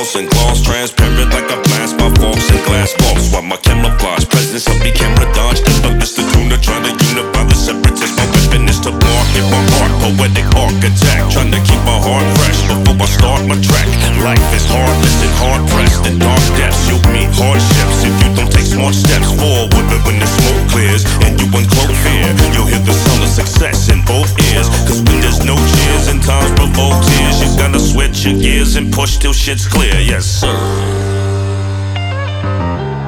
walls and gloss, transparent like I blast my forks and glass balls. While my camouflage presence help me camera dodge. Effortless the tuna trying to unify the separatists. My weapon is to mark in my heart, poetic architect. Trying to keep my heart fresh before I start my track. Life is heartless and hard pressed in dark depths. You'll meet hardships if you don't take smart steps forward. But when the smoke clears and you uncloak fear, you'll hear the sound of success in both ears. Cause when there's no cheers and times provoke tears, you gotta switch your gears and push till shit's clear. Yes sir.